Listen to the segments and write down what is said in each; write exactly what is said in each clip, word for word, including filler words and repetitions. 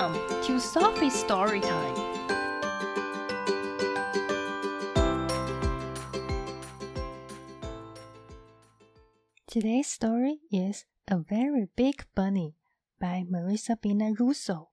Welcome to Sophie's Story Time. Today's story is A Very Big Bunny by Marissa Bina Russo.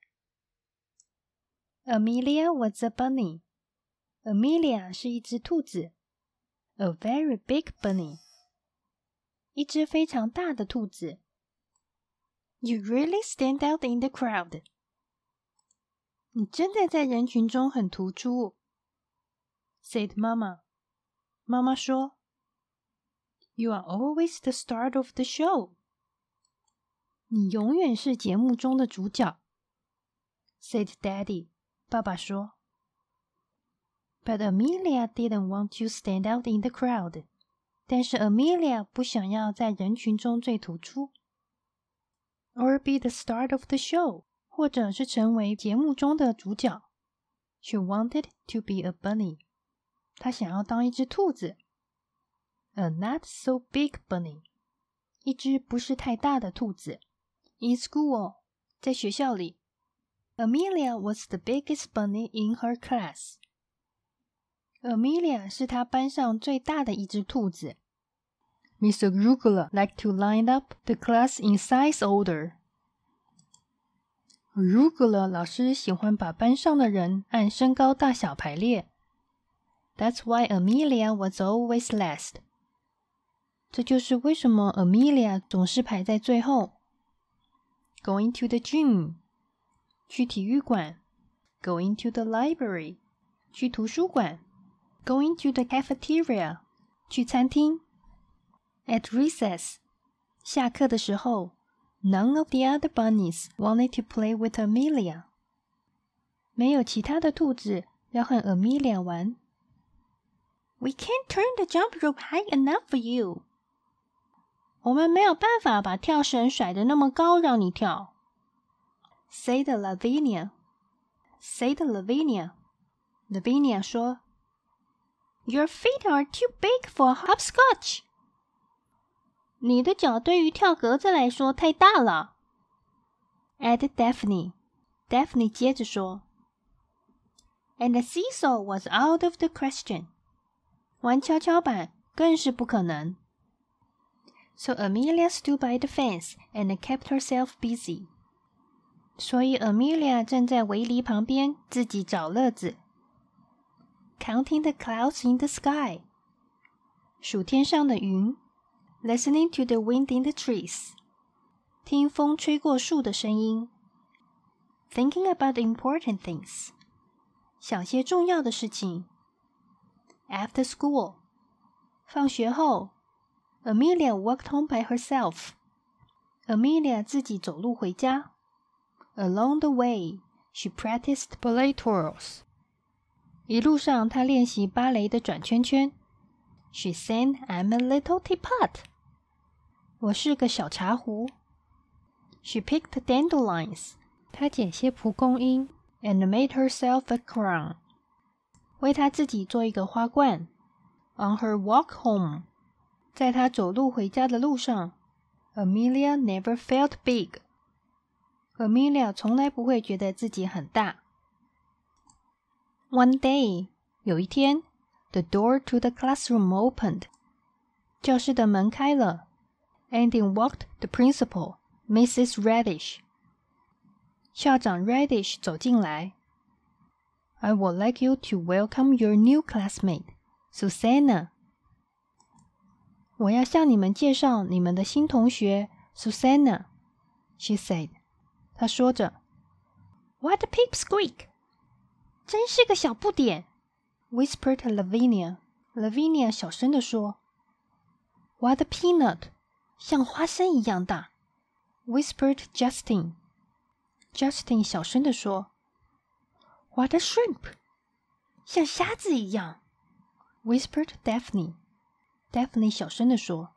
Amelia was a bunny. Amelia 是一只兔子。A very big bunny. 一只非常大的兔子。You really stand out in the crowd. 你真的在人群中很突出。Said Mama. 妈妈说 You are always the star of the show. 你永远是节目中的主角。Said Daddy. 爸爸说 But Amelia didn't want to stand out in the crowd. 但是 Amelia 不想要在人群中最突出。Or be the star of the show. 或者是成为节目中的主角。She wanted to be a bunny. 她想要当一只兔子。A not so big bunny. 一只不是太大的兔子。In school. 在学校里。Amelia was the biggest bunny in her class. Amelia 是她班上最大的一只兔子。Mister Arugula liked to line up the class in size order. Arugula 老师喜欢把班上的人按身高大小排列。That's why Amelia was always last. 这就是为什么 Amelia 总是排在最后。Going to the gym. 去体育馆。Going to the library. 去图书馆。Going to the cafeteria. 去餐厅。At recess. 下课的时候。None of the other bunnies wanted to play with Amelia. 没有其他的兔子要和 Amelia 玩。We can't turn the jump rope high enough for you. 我们没有办法把跳绳甩得那么高让你跳。Said Lavinia. Said Lavinia. Lavinia 说 Your feet are too big for hopscotch. 你的脚对于跳格子来说太大了。Add Daphne. Daphne 接着说 And the seesaw was out of the question. 玩跷跷板更是不可能。So Amelia stood by the fence and kept herself busy. 所以 Amelia 站在围篱旁边自己找乐子。Counting the clouds in the sky. 数天上的云。Listening to the wind in the trees. 听风吹过树的声音。Thinking about important things. 想些重要的事情。After school. 放学后 Amelia walked home by herself. Amelia 自己走路回家。Along the way, she practiced ballet twirls. 一路上她练习芭蕾的转圈圈。She sang, I'm a little teapot. 我是个小茶壶。She picked dandelions. 她捡些蒲公英 and made herself a crown. 为她自己做一个花冠。On her walk home. 在她走路回家的路上 Amelia never felt big. Amelia 从来不会觉得自己很大。One day. 有一天The door to the classroom opened. 教室的门开了。And in walked the principal, Missus Radish. 校长 Radish 走进来。I would like you to welcome your new classmate, Susanna. 我要向你们介绍你们的新同学 Susanna, she said. 她说着。What a pipsqueak! 真是个小不点。Whispered Lavinia. Lavinia 小声地说 What a peanut! 像花生一样大。Whispered Justin. Justin 小声地说 What a shrimp! 像虾子一样。Whispered Daphne. Daphne 小声地说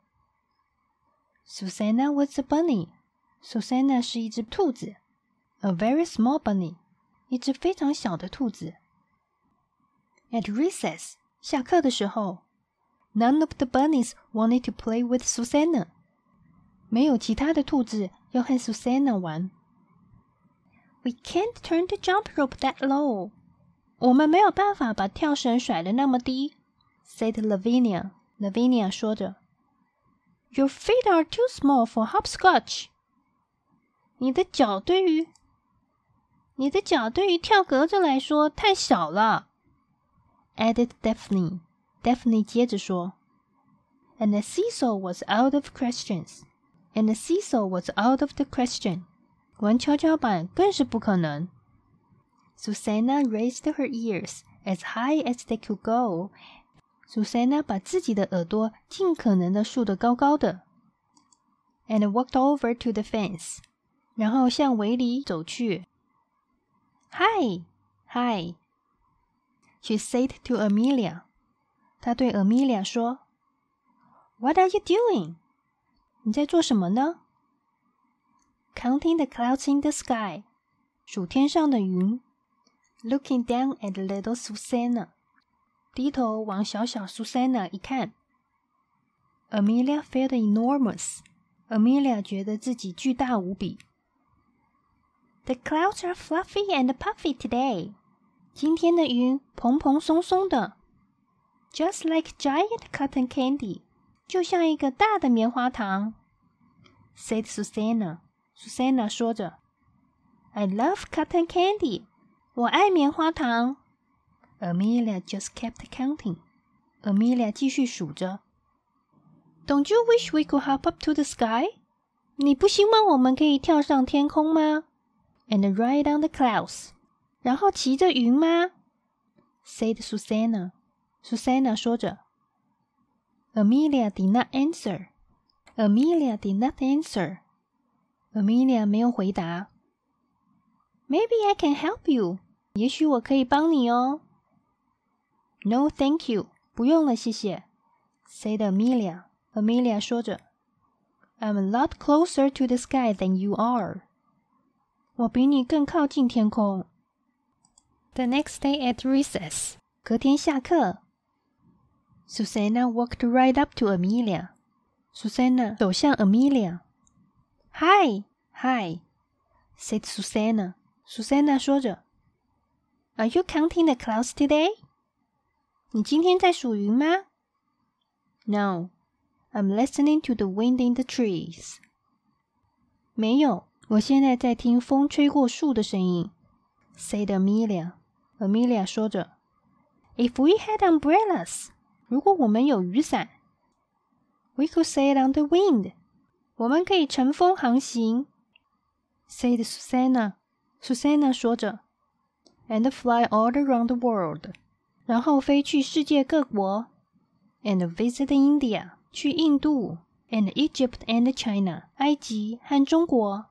Susanna was a bunny. Susanna 是一只兔子。A very small bunny. 一只非常小的兔子。At recess, 下课的时候 None of the bunnies wanted to play with Susanna. 没有其他的兔子要和 Susanna 玩。 We can't turn the jump rope that low. 我们没有办法把跳绳甩得那么低 said Lavinia. Lavinia 说着 Your feet are too small for hopscotch. 你的脚对于你的脚对于跳格子来说太小了 added Daphne. Daphne 接着说 And the seesaw was out of questions. And the seesaw was out of the question. 玩跷跷板更是不可能。Susanna raised her ears as high as they could go. Susanna 把自己的耳朵尽可能的竖得高高的。And walked over to the fence. 然后向围篱走去。Hi, hi. She said to Amelia. 她对 Amelia 说 What are you doing? 你在做什么呢？Counting the clouds in the sky. 数天上的云。Looking down at little Susanna. 低头往小小 Susanna 一看。Amelia felt enormous. Amelia 觉得自己巨大无比。The clouds are fluffy and puffy today. 今天的云蓬蓬松松的。Just like giant cotton candy. 就像一个大的棉花糖。said Susanna.Susanna 说着 I love cotton candy. 我爱棉花糖 Amelia just kept counting. Amelia 继续数着 Don't you wish we could hop up to the sky? 你不希望我们可以跳上天空吗 And ride on the clouds. 然后骑着云吗 said Susanna. Susanna 说着 Amelia did not answer.Amelia did not answer. Amelia 没有回答。Maybe I can help you. 也许我可以帮你哦。No, thank you. 不用了，谢谢。said Amelia. Amelia 说着 I'm a lot closer to the sky than you are. 我比你更靠近天空。The next day at recess. 隔天下课。Susanna walked right up to Amelia.Susanna 走向 Amelia. Hi, hi, said Susanna. Susanna 说着 Are you counting the clouds today? 你今天在数云吗 No, I'm listening to the wind in the trees. 没有，我现在在听风吹过树的声音 said Amelia. Amelia 说着 If we had umbrellas, 如果我们有雨伞We could sail on the wind. 我们可以乘风航行 said Susanna. Susanna 说着 And fly all around the world. 然后飞去世界各国 And visit India. 去印度 And Egypt and China. 埃及和中国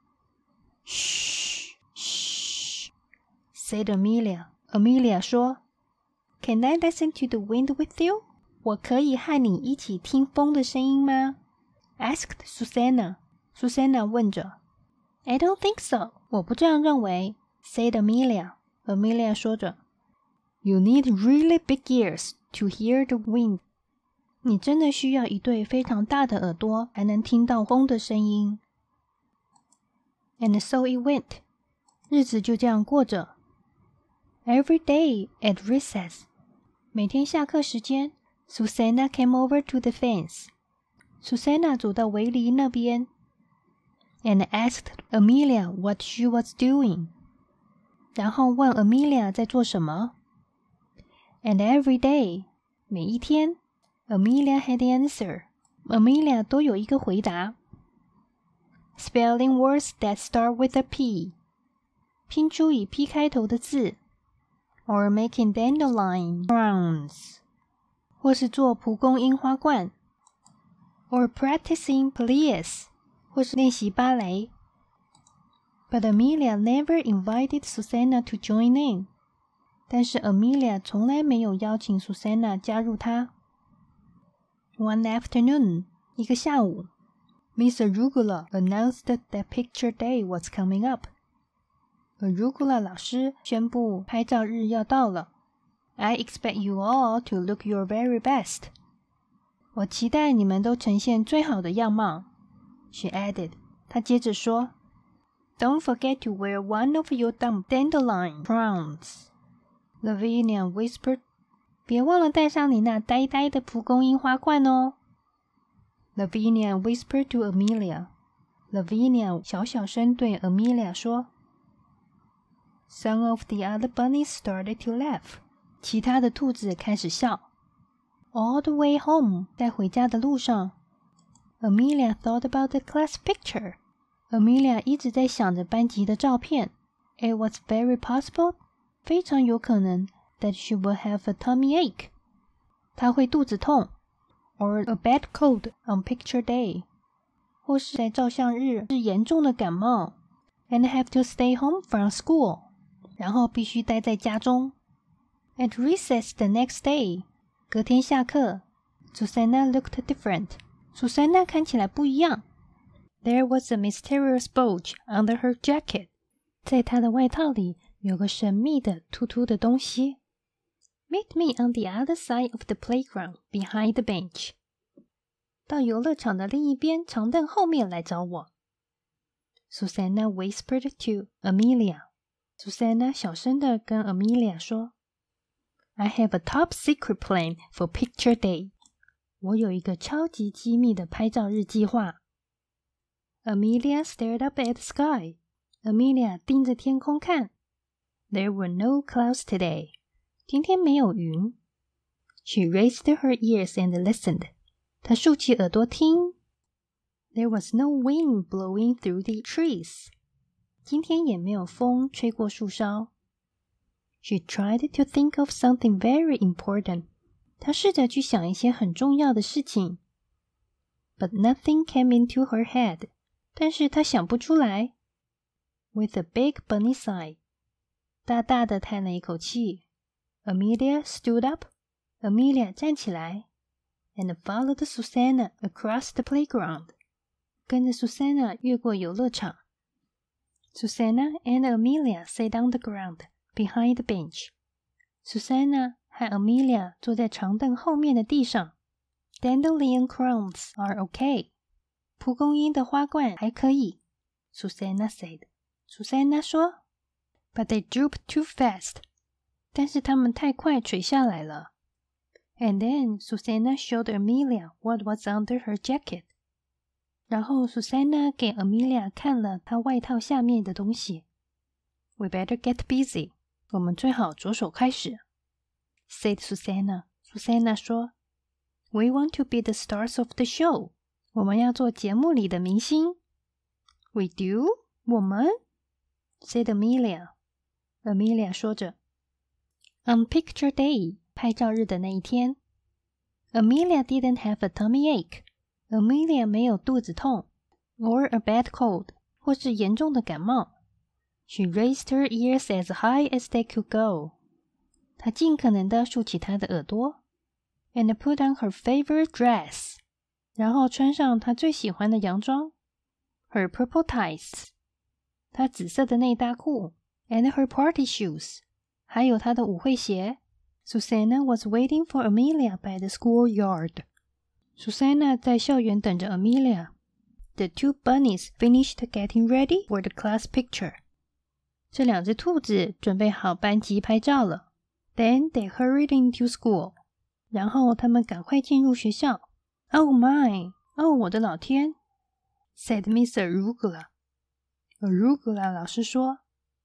Shh, shh, said Amelia. Amelia 说 Can I listen to the wind with you?我可以和你一起听风的声音吗 Asked Susanna. Susanna 问着 I don't think so. 我不这样认为 said Amelia. Amelia 说着 You need really big ears to hear the wind. 你真的需要一对非常大的耳朵才能听到风的声音 And so it went. 日子就这样过着 Every day at recess. 每天下课时间Susanna came over to the fence. Susanna 走到围篱那边 and asked Amelia what she was doing. 然后问 Amelia 在做什么 And every day, 每一天 Amelia had the answer. Amelia 都有一个回答 Spelling words that start with a P. 拼出以 P 开头的字 Or making dandelion crowns.或是做蒲公英花冠 or practicing Pilates 或是练习芭蕾 But Amelia never invited Susanna to join in. 但是 Amelia 从来没有邀请 Susanna 加入她 One afternoon, 一个下午 Miss Arugula announced that picture day was coming up. Arugula 老师宣布拍照日要到了I expect you all to look your very best. 我期待你们都呈现最好的样貌 She added. 她接着说 Don't forget to wear one of your dandelion crowns, Lavinia whispered. 别忘了戴上你那呆呆的蒲公英花冠哦。Lavinia whispered to Amelia. Lavinia 小小声对 Amelia 说。Some of the other bunnies started to laugh. 其他的兔子开始笑。All the way home, 在回家的路上 Amelia thought about the class picture. Amelia 一直在想着班级的照片。It was very possible, 非常有可能 that she would have a tummy ache. 她会肚子痛。Or a bad cold on picture day. 或是在照相日是严重的感冒。And have to stay home from school. 然后必须待在家中。At recess the next day. 隔天下课 Susanna looked different. Susanna 看起来不一样。There was a mysterious bulge under her jacket. 在她的外套里有个神秘的突突的东西。Meet me on the other side of the playground, behind the bench. 到游乐场的另一边长凳后面来找我。Susanna whispered to Amelia. Susanna 小声地跟 Amelia 说 I have a top secret plan for picture day. 我有一个超级机密的拍照日计划。Amelia stared up at the sky. Amelia 盯着天空看。There were no clouds today. 今天没有云。She raised her ears and listened. 她竖起耳朵听。There was no wind blowing through the trees. 今天也没有风吹过树梢。She tried to think of something very important. 她试着去想一些很重要的事情。But nothing came into her head. 但是她想不出来。With a big bunny sigh. 大大的叹了一口气。Amelia stood up. Amelia 站起来。And followed Susanna across the playground. 跟着 Susanna 越过游乐场。Susanna and Amelia sat on the ground behind the bench. Susanna 和 Amelia 坐在长凳后面的地上。Dandelion crowns are okay. 蒲公英的花冠还可以。Susanna said. Susanna 说。But they drooped too fast. 但是它们太快垂下来了。And then Susanna showed Amelia what was under her jacket. 然后 Susanna 给 Amelia 看了她外套下面的东西。We better get busy. 我们最好着手开始。Said Susanna. Susanna 说 We want to be the stars of the show. 我们要做节目里的明星。We do? 我们 Said Amelia. Amelia 说着。On picture day, 拍照日的那一天 Amelia didn't have a tummy ache. Amelia 没有肚子痛 or a bad cold 或是严重的感冒。She raised her ears as high as they could go. 她尽可能地竖起她的耳朵 and put on her favorite dress. 然后穿上她最喜欢的洋装 her purple tights. 她紫色的内搭裤 and her party shoes. 还有她的舞会鞋。Susanna was waiting for Amelia by the schoolyard. Susanna 在校园等着 Amelia. The two bunnies finished getting ready for the class picture. 这两只兔子准备好班级拍照了。Then they hurried into school. 然后他们赶快进入学校。Oh my! 哦，我的老天 said Miss Arugula. Arugula 老师说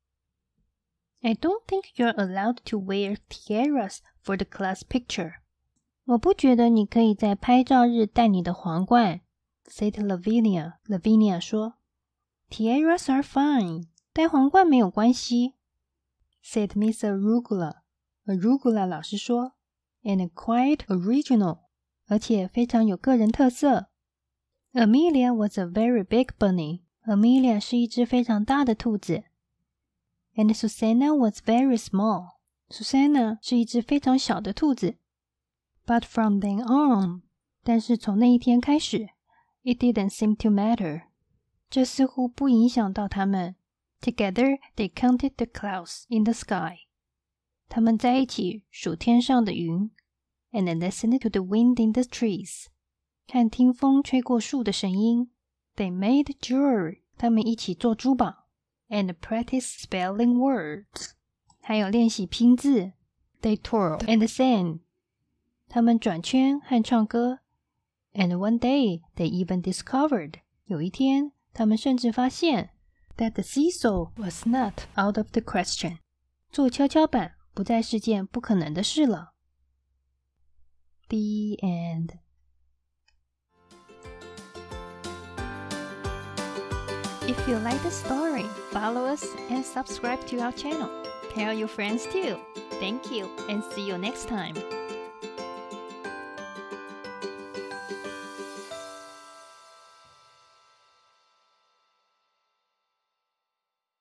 I don't think you're allowed to wear tiaras for the class picture. 我不觉得你可以在拍照日戴你的皇冠 said Lavinia. Lavinia 说 Tiaras are fine. 戴皇冠没有关系 said Miss Arugula. Arugula 老师说 And quite original. 而且非常有个人特色 Amelia was a very big bunny. Amelia 是一只非常大的兔子And Susanna was very small. Susanna 是一只非常小的兔子。But from then on, 但是从那一天开始 it didn't seem to matter. 这似乎不影响到他们。Together, they counted the clouds in the sky. 他们在一起数天上的云 and listened to the wind in the trees. 看听风吹过树的声音。They made jewelry. 他们一起做珠宝。 and practice spelling words. 还有练习拼字。They twirl and sang. 他们转圈和唱歌。And one day, they even discovered. 有一天，他们甚至发现 that the seesaw was not out of the question. 坐跷跷板不再是件不可能的事了。The end. If you like the story, follow us and subscribe to our channel. Tell your friends too. Thank you and see you next time.